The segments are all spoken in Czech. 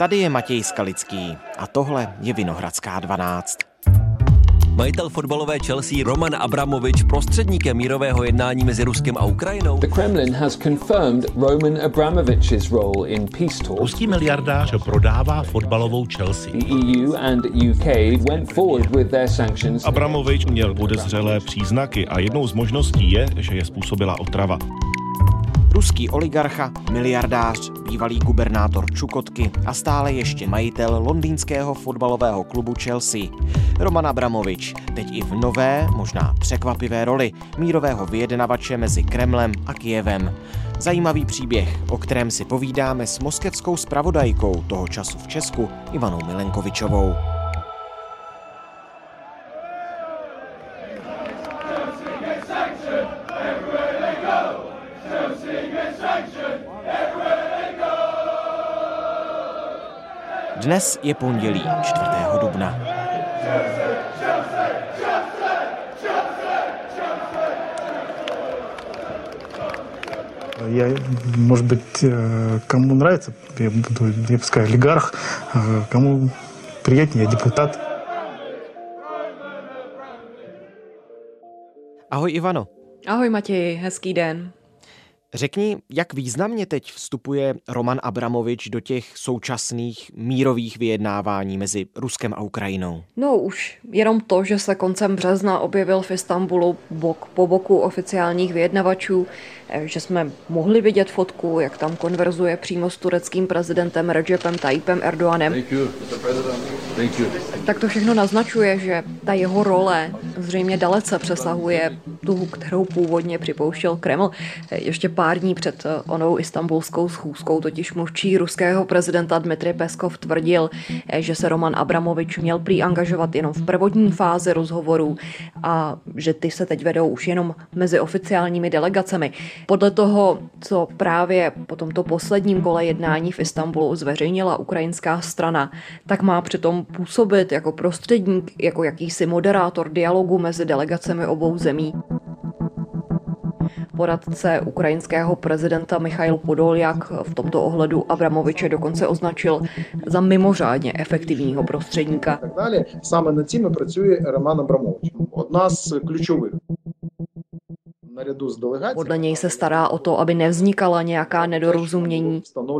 Tady je Matěj Skalický a tohle je Vinohradská 12. Majitel fotbalové Chelsea Roman Abramovič prostředníkem mírového jednání mezi Ruskem a Ukrajinou. The Kremlin has confirmed Roman Abramovich's role in peace talks. Ruský miliardář prodává fotbalovou Chelsea. The EU and UK went forward with their sanctions. Abramovič měl podezřelé příznaky a jednou z možností je, že je způsobila otrava. Ruský oligarcha, miliardář, bývalý gubernátor Čukotky a stále ještě majitel londýnského fotbalového klubu Chelsea. Roman Abramovič, teď i v nové, možná překvapivé roli mírového vyjednavače mezi Kremlem a Kyjevem. Zajímavý příběh, o kterém si povídáme s moskevskou zpravodajkou toho času v Česku Ivanou Milenkovičovou. Dnes je pondělí 4. dubna. Я, может быть, кому нравится, я буду, пускай олигарх, кому приятнее, я депутат. Ahoj Ivano. Ahoj Matěji, hezký den. Řekni, jak významně teď vstupuje Roman Abramovič do těch současných mírových vyjednávání mezi Ruskem a Ukrajinou? No už jenom to, že se koncem března objevil v Istanbulu bok po boku oficiálních vyjednavačů, že jsme mohli vidět fotku, jak tam konverzuje přímo s tureckým prezidentem Recepem Tayyipem Erdoganem. Tak to všechno naznačuje, že ta jeho role zřejmě dalece přesahuje tu, kterou původně připouštěl Kreml. Ještě pár dní před onou istanbulskou schůzkou totiž mluvčí ruského prezidenta Dmitrij Peskov tvrdil, že se Roman Abramovič měl prý angažovat jenom v prvotní fázi rozhovorů a že ty se teď vedou už jenom mezi oficiálními delegacemi. Podle toho, co právě po tomto posledním kole jednání v Istanbulu zveřejnila ukrajinská strana, tak má přitom působit jako prostředník, jako jakýsi moderátor dialogu mezi delegacemi obou zemí. Poradce ukrajinského prezidenta Michail Podoljak v tomto ohledu Abramoviče dokonce označil za mimořádně efektivního prostředníka. Sаме над цим працює Роман Абрамович. Одна з ключових. Podle něj se stará o to, aby nevznikala nějaká nedorozumění.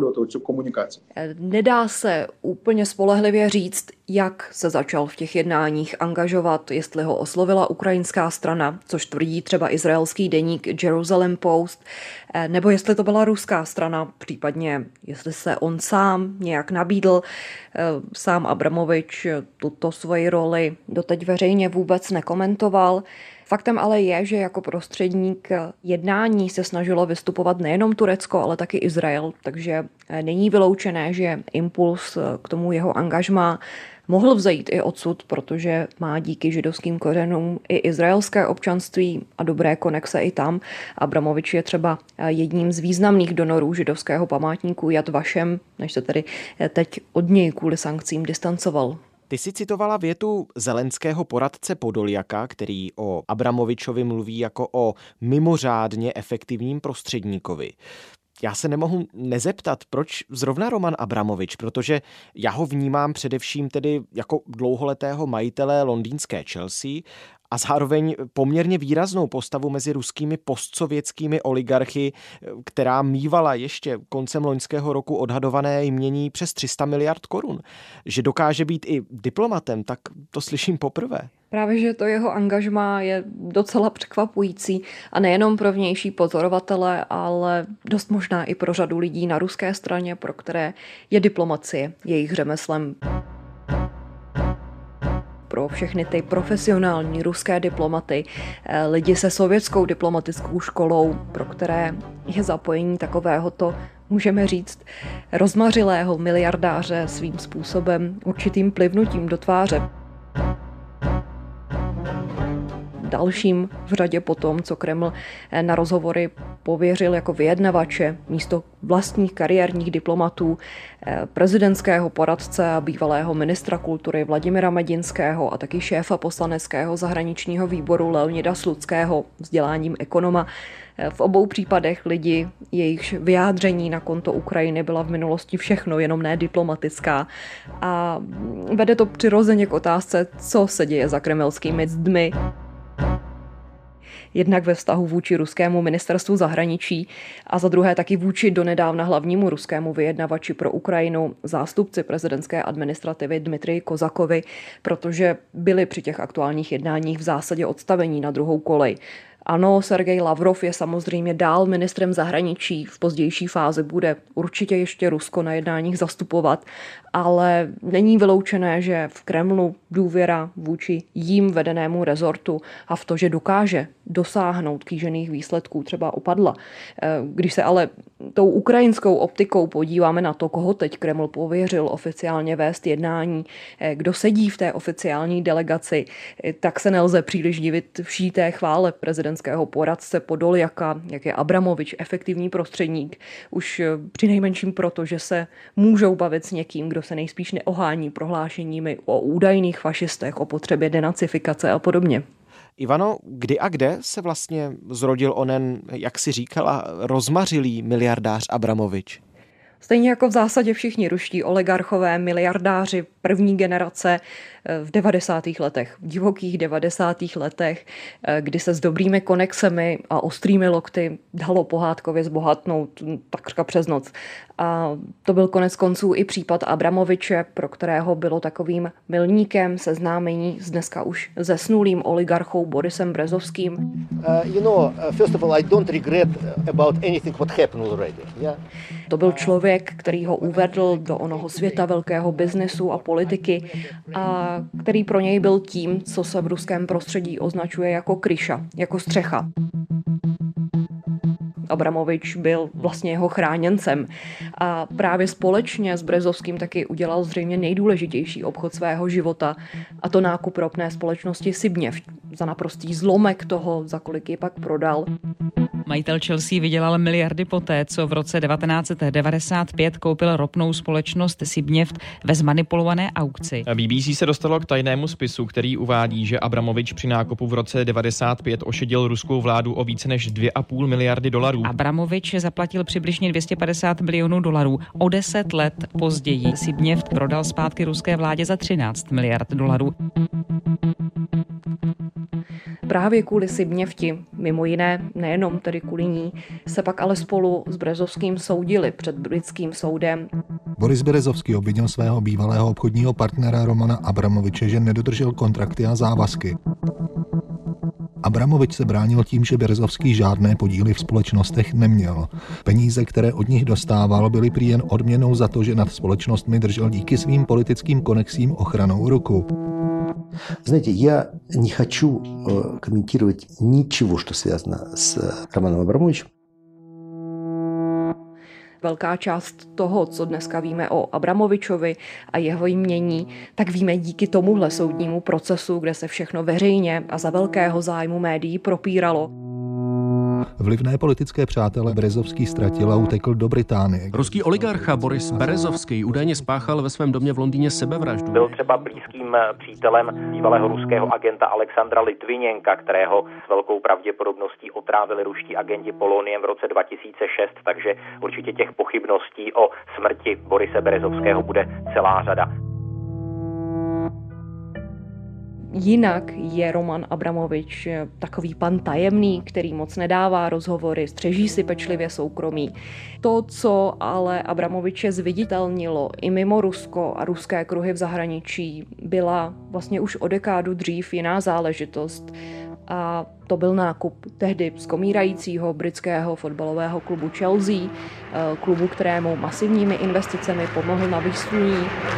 Nedá se úplně spolehlivě říct, jak se začal v těch jednáních angažovat, jestli ho oslovila ukrajinská strana, což tvrdí třeba izraelský deník Jerusalem Post, nebo jestli to byla ruská strana, případně jestli se on sám nějak nabídl. Sám Abramovič tuto svoji roli doteď veřejně vůbec nekomentoval. Faktem ale je, že jako prostředník jednání se snažilo vystupovat nejenom Turecko, ale taky Izrael, takže není vyloučené, že impuls k tomu jeho angažmá mohl vzejít i odsud, protože má díky židovským kořenům i izraelské občanství a dobré konexe i tam. Abramovič je třeba jedním z významných donorů židovského památníku Yad Vashem, než se tedy teď od něj kvůli sankcím distancoval. Ty si citovala větu zelenského poradce Podoljaka, který o Abramovičovi mluví jako o mimořádně efektivním prostředníkovi. Já se nemohu nezeptat, proč zrovna Roman Abramovič, protože já ho vnímám především tedy jako dlouholetého majitele londýnské Chelsea a zároveň poměrně výraznou postavu mezi ruskými postsovětskými oligarchy, která mívala ještě koncem loňského roku odhadované jmění přes 300 miliard korun. Že dokáže být i diplomatem, tak to slyším poprvé. Právě, že to jeho angažmá je docela překvapující a nejenom pro vnější pozorovatele, ale dost možná i pro řadu lidí na ruské straně, pro které je diplomacie jejich řemeslem. Pro všechny ty profesionální ruské diplomaty, lidi se sovětskou diplomatickou školou, pro které je zapojení takovéhoto, můžeme říct, rozmařilého miliardáře svým způsobem určitým plivnutím do tváře. dalším v řadě potom, co Kreml na rozhovory pověřil jako vyjednavače místo vlastních kariérních diplomatů prezidentského poradce a bývalého ministra kultury Vladimira Medinského a taky šéfa poslaneckého zahraničního výboru Leonida Slutského, vzděláním ekonoma. V obou případech lidi, jejichž vyjádření na konto Ukrajiny byla v minulosti všechno, jenom ne diplomatická. A vede to přirozeně k otázce, co se děje za kremelskými zdmi. Jednak ve vztahu vůči ruskému ministerstvu zahraničí a za druhé taky vůči donedávna hlavnímu ruskému vyjednavači pro Ukrajinu, zástupci prezidentské administrativy Dmitriji Kozakovi, protože byli při těch aktuálních jednáních v zásadě odstavení na druhou kolej. Ano, Sergej Lavrov je samozřejmě dál ministrem zahraničí, v pozdější fázi bude určitě ještě Rusko na jednáních zastupovat, ale není vyloučené, že v Kremlu důvěra vůči jím vedenému rezortu a v to, že dokáže dosáhnout kýžených výsledků, třeba opadla. Když se ale tou ukrajinskou optikou podíváme na to, koho teď Kreml pověřil oficiálně vést jednání, kdo sedí v té oficiální delegaci, tak se nelze příliš divit vší té chvále prezidentského poradce Podoljaka, jak je Abramovič efektivní prostředník, už přinejmenším proto, že se můžou bavit s někým, kdo se nejspíš neohání prohlášeními o údajných fašistech, o potřebě denacifikace a podobně. Ivano, kdy a kde se vlastně zrodil onen, jak si říkala, rozmařilý miliardář Abramovič? Stejně jako v zásadě všichni ruští oligarchové, miliardáři první generace v 90. letech, v divokých 90. letech, kdy se s dobrými konexemi a ostrými lokty dalo pohádkově zbohatnout takřka přes noc. A to byl konec konců i případ Abramoviče, pro kterého bylo takovým milníkem seznámení s dneska už zesnulým oligarchou Borisem Berezovským. First of all, I don't regret about anything what happened already. Yeah? To byl člověk, který ho uvedl do onoho světa velkého biznesu a politiky a který pro něj byl tím, co se v ruském prostředí označuje jako kryša, jako střecha. Abramovič byl vlastně jeho chráněncem a právě společně s Berezovským taky udělal zřejmě nejdůležitější obchod svého života, a to nákup ropné společnosti Sibněv za naprostý zlomek toho, za kolik ji pak prodal. Majitel Chelsea vydělal miliardy poté, co v roce 1995 koupil ropnou společnost Sibněft ve zmanipulované aukci. BBC se dostalo k tajnému spisu, který uvádí, že Abramovič při nákupu v roce 1995 ošidil ruskou vládu o více než 2,5 miliardy dolarů. Abramovič zaplatil přibližně 250 milionů dolarů. O 10 let později Sibněft prodal zpátky ruské vládě za 13 miliard dolarů. Právě kvůli Sibněfti, mimo jiné, nejenom tedy kvůli ní, se pak ale spolu s Berezovským soudili před britským soudem. Boris Berezovský obvinil svého bývalého obchodního partnera Romana Abramoviče, že nedodržel kontrakty a závazky. Abramovič se bránil tím, že Berezovský žádné podíly v společnostech neměl. Peníze, které od nich dostával, byly prý jen odměnou za to, že nad společnostmi držel díky svým politickým konexím ochranou ruku. Знаете, я не хочу комментировать ничего, что связано с Романом Абрамовичем. Velká část toho, co dneska víme o Abramovičovi a jeho jmění, tak víme díky tomuhle soudnímu procesu, kde se všechno veřejně a za velkého zájmu médií propíralo. Vlivné politické přátele Berezovský ztratil a utekl do Británie. Ruský oligarcha Boris Berezovský údajně spáchal ve svém domě v Londýně sebevraždu. Byl třeba blízkým přítelem bývalého ruského agenta Alexandra Litviněnka, kterého s velkou pravděpodobností otrávili ruští agenti poloniem v roce 2006, takže určitě těch pochybností o smrti Borise Berezovského bude celá řada. Jinak je Roman Abramovič takový pan tajemný, který moc nedává rozhovory, střeží si pečlivě soukromí. To, co ale Abramoviče zviditelnilo i mimo Rusko a ruské kruhy v zahraničí, byla vlastně už o dekádu dřív jiná záležitost. A to byl nákup tehdy skomírajícího britského fotbalového klubu Chelsea, klubu, kterému masivními investicemi pomohl na výsluní.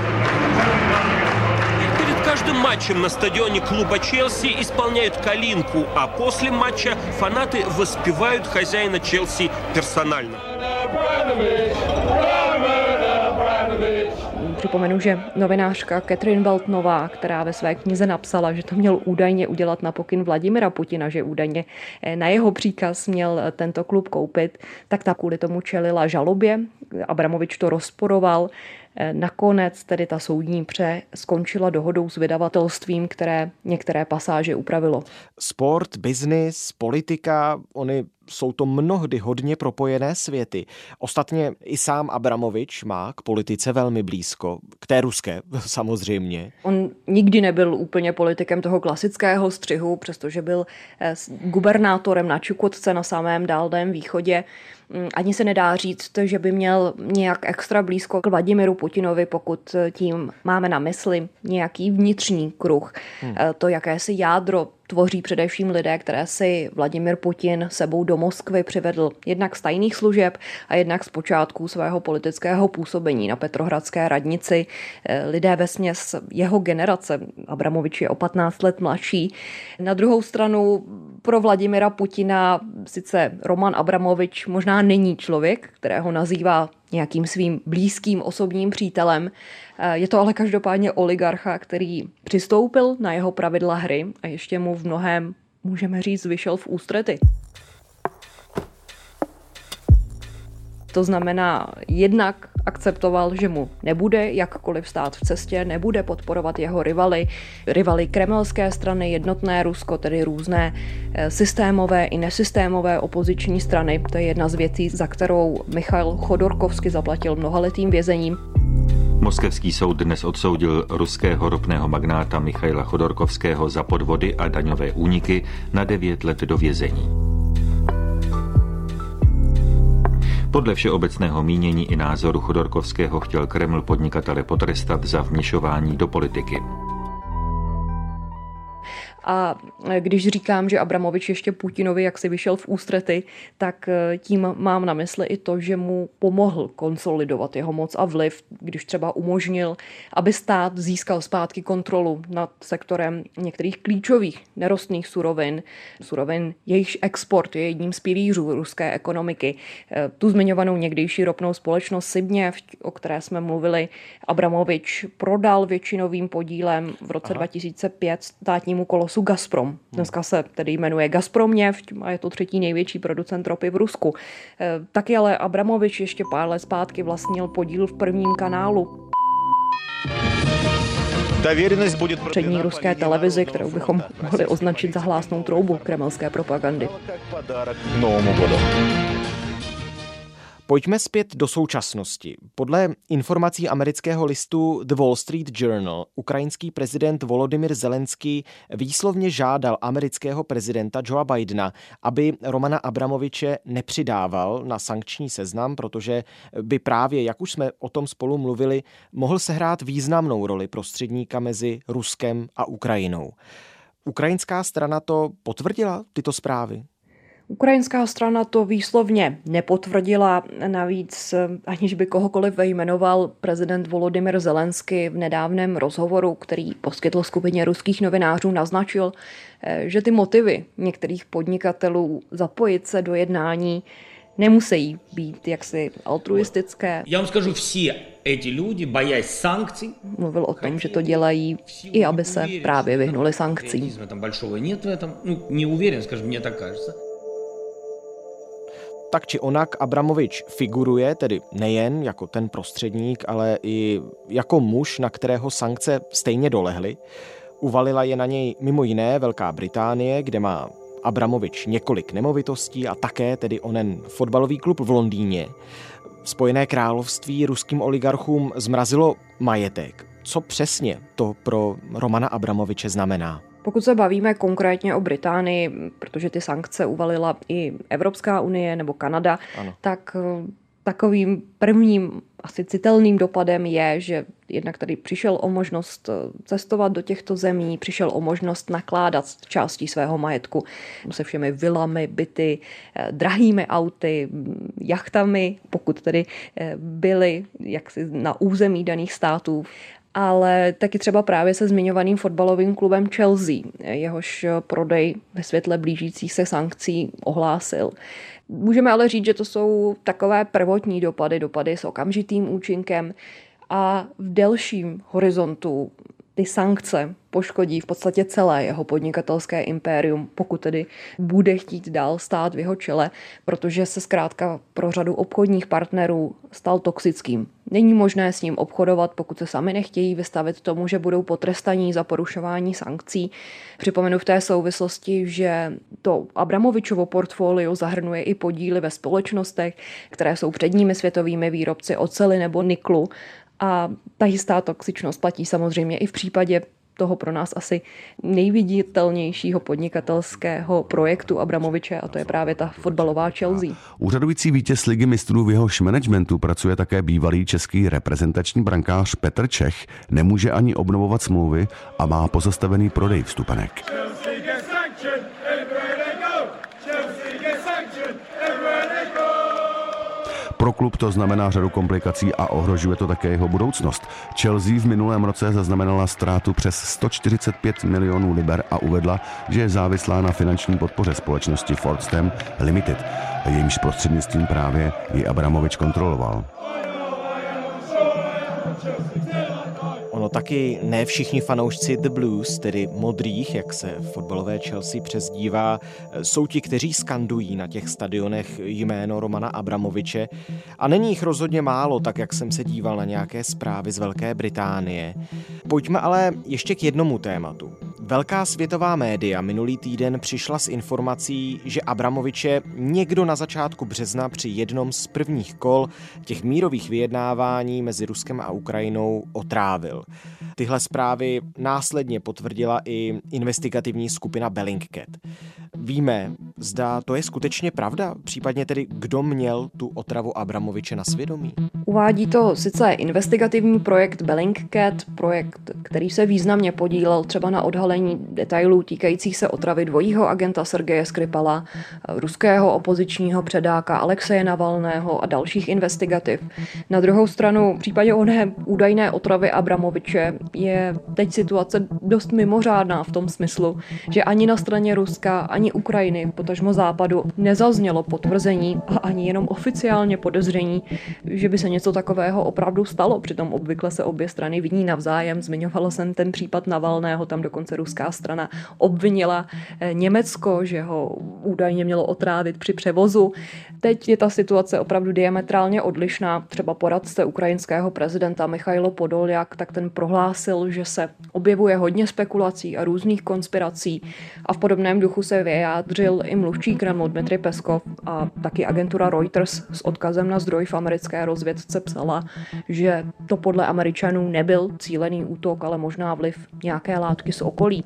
Каждым матчем на стадионе клуба Челси исполняют калинку, а после матча фанаты воспевают хозяина Челси персонально. Připomenu, že novinářka Catherine Weltnová, která ve své knize napsala, že to měl údajně udělat na pokyn Vladimira Putina, že údajně na jeho příkaz měl tento klub koupit, tak ta kvůli tomu čelila žalobě. Abramovič to rozporoval. Nakonec tedy ta soudní pře skončila dohodou s vydavatelstvím, které některé pasáže upravilo. Sport, biznis, politika, jsou to mnohdy hodně propojené světy. Ostatně i sám Abramovič má k politice velmi blízko, k té ruské samozřejmě. On nikdy nebyl úplně politikem toho klasického střihu, přestože byl gubernátorem na Čukotce na samém Dálném východě. Ani se nedá říct, že by měl nějak extra blízko k Vladimiru Putinovi, pokud tím máme na mysli nějaký vnitřní kruh. To jakési jádro tvoří především lidé, které si Vladimir Putin sebou do Moskvy přivedl jednak z tajných služeb a jednak z počátku svého politického působení na Petrohradské radnici. Lidé vesměs jeho generace, Abramovič je o 15 let mladší. Na druhou stranu pro Vladimira Putina sice Roman Abramovič možná není člověk, kterého nazývá nějakým svým blízkým osobním přítelem. Je to ale každopádně oligarcha, který přistoupil na jeho pravidla hry a ještě mu v mnohém, můžeme říct, vyšel v ústrety. To znamená, jednak akceptoval, že mu nebude jakkoliv stát v cestě, nebude podporovat jeho rivaly kremelské strany, jednotné Rusko, tedy různé systémové i nesystémové opoziční strany. To je jedna z věcí, za kterou Michail Chodorkovský zaplatil mnohaletým vězením. Moskevský soud dnes odsoudil ruského ropného magnáta Michaila Chodorkovského za podvody a daňové úniky na 9 let do vězení. Podle všeobecného mínění i názoru Chodorkovského chtěl Kreml podnikatele potrestat za vměšování do politiky. A když říkám, že Abramovič ještě Putinovi jaksi vyšel v ústrety, tak tím mám na mysli i to, že mu pomohl konsolidovat jeho moc a vliv, když třeba umožnil, aby stát získal zpátky kontrolu nad sektorem některých klíčových nerostných surovin, jejichž export je jedním z pilířů ruské ekonomiky. Tu zmiňovanou někdejší ropnou společnost Sibněft, o které jsme mluvili, Abramovič prodal většinovým podílem v roce 2005 státnímu kolosu Gazprom. Dneska se tedy jmenuje Gazpromneft a je to 3. největší producent ropy v Rusku. Taky ale Abramovič ještě pár let zpátky vlastnil podíl v Prvním kanálu. Přední ruské televizi, kterou bychom mohli označit za hlásnou troubu kremelské propagandy. Pojďme zpět do současnosti. Podle informací amerického listu The Wall Street Journal ukrajinský prezident Volodymyr Zelenský výslovně žádal amerického prezidenta Joea Bidena, aby Romana Abramoviče nepřidával na sankční seznam, protože by právě, jak už jsme o tom spolu mluvili, mohl sehrát významnou roli prostředníka mezi Ruskem a Ukrajinou. Ukrajinská strana to potvrdila, tyto zprávy? Ukrajinská strana to výslovně nepotvrdila, navíc aniž by kohokoliv jmenoval prezident Volodymyr Zelenský v nedávném rozhovoru, který poskytl skupině ruských novinářů, naznačil, že ty motivy některých podnikatelů zapojit se do jednání nemusí být jaksi altruistické. Já vám скажу, všichni эти люди, боясь sankcí, mluvil o tom, že to dělají i aby se právě vyhnuli sankcím. Tak či onak Abramovič figuruje, tedy nejen jako ten prostředník, ale i jako muž, na kterého sankce stejně dolehly. Uvalila je na něj mimo jiné Velká Británie, kde má Abramovič několik nemovitostí a také tedy onen fotbalový klub v Londýně. Spojené království ruským oligarchům zmrazilo majetek. Co přesně to pro Romana Abramoviče znamená? Pokud se bavíme konkrétně o Británii, protože ty sankce uvalila i Evropská unie nebo Kanada, ano, tak takovým prvním asi citelným dopadem je, že jednak tady přišel o možnost cestovat do těchto zemí, přišel o možnost nakládat s částí svého majetku se všemi vilami, byty, drahými auty, jachtami, pokud tedy byly jaksi na území daných států, ale taky třeba právě se zmiňovaným fotbalovým klubem Chelsea, jehož prodej ve světle blížících se sankcí ohlásil. Můžeme ale říct, že to jsou takové prvotní dopady s okamžitým účinkem a v delším horizontu ty sankce poškodí v podstatě celé jeho podnikatelské impérium, pokud tedy bude chtít dál stát v jeho čele, protože se zkrátka pro řadu obchodních partnerů stal toxickým. Není možné s ním obchodovat, pokud se sami nechtějí vystavit tomu, že budou potrestaní za porušování sankcí. Připomenu v té souvislosti, že to Abramovičovo portfolio zahrnuje i podíly ve společnostech, které jsou předními světovými výrobci oceli nebo niklu. A ta jistá toxičnost platí samozřejmě i v případě toho pro nás asi nejviditelnějšího podnikatelského projektu Abramoviče, a to je právě ta fotbalová Chelsea. Úřadující vítěz Ligy mistrů, v jehož managementu pracuje také bývalý český reprezentační brankář Petr Čech, nemůže ani obnovovat smlouvy a má pozastavený prodej vstupenek. Pro klub to znamená řadu komplikací a ohrožuje to také jeho budoucnost. Chelsea v minulém roce zaznamenala ztrátu přes 145 milionů liber a uvedla, že je závislá na finanční podpoře společnosti Fordstam Limited, jejímž prostřednictvím právě ji Abramovič kontroloval. Ono taky ne všichni fanoušci The Blues, tedy modrých, jak se fotbalové Chelsea přezdívá, jsou ti, kteří skandují na těch stadionech jméno Romana Abramoviče. A není jich rozhodně málo, tak jak jsem se díval na nějaké zprávy z Velké Británie. Pojďme ale ještě k jednomu tématu. Velká světová média minulý týden přišla s informací, že Abramoviče někdo na začátku března při jednom z prvních kol těch mírových vyjednávání mezi Ruskem a Ukrajinou otrávil. Tyhle zprávy následně potvrdila i investigativní skupina Bellingcat. Víme, zda to je skutečně pravda? Případně tedy, kdo měl tu otravu Abramoviče na svědomí? Uvádí to sice investigativní projekt Bellingcat, projekt, který se významně podílel třeba na odhalení detailů týkajících se otravy dvojího agenta Sergeje Skripala, ruského opozičního předáka Alexeje Navalného a dalších investigativ. Na druhou stranu, v případě oné údajné otravy Abramoviče je teď situace dost mimořádná v tom smyslu, že ani na straně Ruska, ani Ukrajiny, potažmo Západu, nezaznělo potvrzení a ani jenom oficiálně podezření, že by se něco takového opravdu stalo. Přitom obvykle se obě strany viní navzájem. Zmiňovala jsem ten případ Navalného, tam dokonce ruská strana obvinila Německo, že ho údajně mělo otrávit při převozu. Teď je ta situace opravdu diametrálně odlišná. Třeba poradce ukrajinského prezidenta Michailo Podoljak, tak ten prohlásil, že se objevuje hodně spekulací a různých konspirací a v podobném duchu se vyjádřil i mluvčí Kremlu Dmitrij Peskov a taky agentura Reuters s odkazem na zdroj v americké rozvědce psala, že to podle Američanů nebyl cílený útok, ale možná vliv nějaké látky z okolí.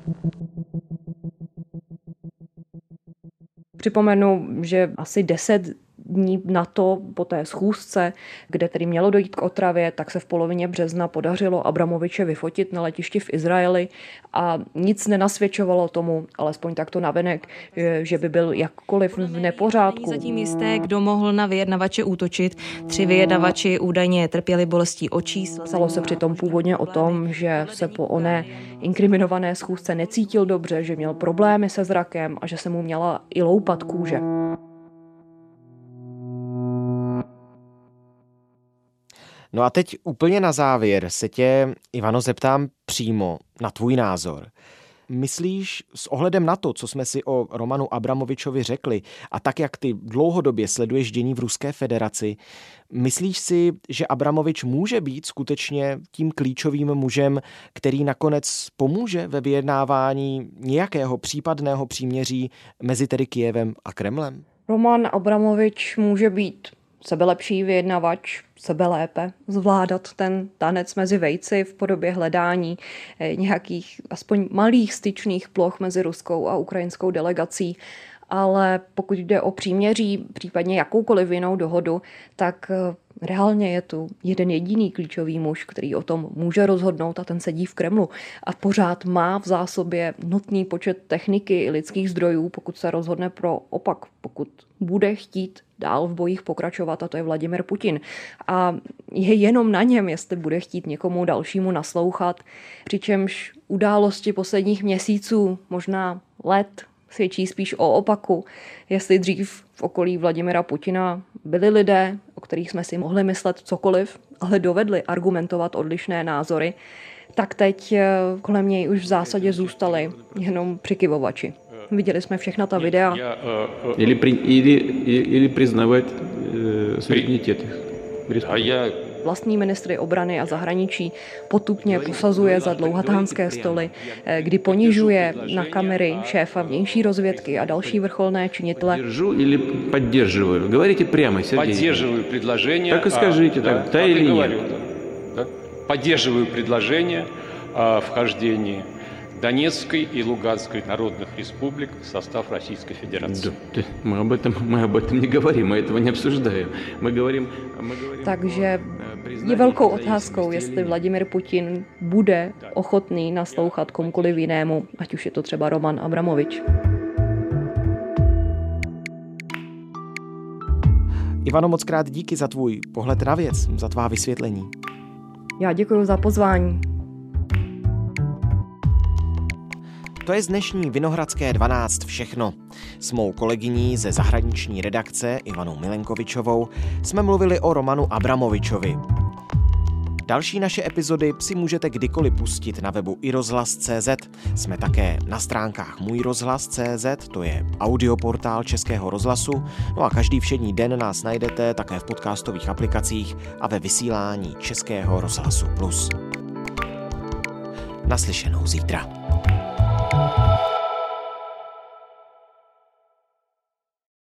Připomenu, že asi 10 dní na to, po té schůzce, kde tedy mělo dojít k otravě, tak se v polovině března podařilo Abramoviče vyfotit na letišti v Izraeli a nic nenasvědčovalo tomu, alespoň takto navenek, že by byl jakkoliv v nepořádku. Není zatím jisté, kdo mohl na vyjednavače útočit. 3 vyjednavači údajně trpěli bolestí očí. Psalo se přitom původně o tom, že se po oné inkriminované schůzce necítil dobře, že měl problémy se zrakem a že se mu měla i loupat kůže. No a teď úplně na závěr se tě, Ivano, zeptám přímo na tvůj názor. Myslíš s ohledem na to, co jsme si o Romanu Abramovičovi řekli a tak, jak ty dlouhodobě sleduješ dění v Ruské federaci, myslíš si, že Abramovič může být skutečně tím klíčovým mužem, který nakonec pomůže ve vyjednávání nějakého případného příměří mezi tedy Kyjevem a Kremlem? Roman Abramovič může být sebelepší vyjednavač, sebelépe zvládat ten tanec mezi vejci v podobě hledání nějakých aspoň malých styčných ploch mezi ruskou a ukrajinskou delegací. Ale pokud jde o příměří, případně jakoukoliv jinou dohodu, tak reálně je tu jeden jediný klíčový muž, který o tom může rozhodnout a ten sedí v Kremlu a pořád má v zásobě nutný počet techniky i lidských zdrojů, pokud se rozhodne pro opak, pokud bude chtít dál v bojích pokračovat, a to je Vladimir Putin. A je jenom na něm, jestli bude chtít někomu dalšímu naslouchat, přičemž události posledních měsíců, možná let, svědčí spíš o opaku, jestli dřív v okolí Vladimira Putina byli lidé, o kterých jsme si mohli myslet cokoliv, ale dovedli argumentovat odlišné názory, tak teď kolem něj už v zásadě zůstali jenom přikyvovači. Viděli jsme všechna ta videa. Или признавать суверенитет. Vlastní ministry obrany a zahraničí potupně posazuje za dlouhatánské stoly, kdy ponižuje na kamery šéfa vnější rozvědky a další vrcholné činitele. Говорите прямо, Сергей. Поддерживаю предложение. Так и скажите, да или нет. Поддерживаю предложение о вхождении Донецкой и Луганской народных республик в состав Российской Федерации. Мы об этом не говорим, мы этого не обсуждаем. Мы говорим. Takže je velkou otázkou, jestli Vladimir Putin bude ochotný naslouchat komukoliv jinému, ať už je to třeba Roman Abramovič. Ivano, moc krát díky za tvůj pohled na věc, za tvá vysvětlení. Já děkuji za pozvání. To je z dnešní Vinohradské 12 všechno. S mou kolegyní ze zahraniční redakce Ivanou Milenkovičovou jsme mluvili o Romanu Abramovičovi. Další naše epizody si můžete kdykoliv pustit na webu iRozhlas.cz. Jsme také na stránkách můjrozhlas.cz, to je audioportál Českého rozhlasu, no a každý všední den nás najdete také v podcastových aplikacích a ve vysílání Českého rozhlasu Plus. Naslyšenou zítra.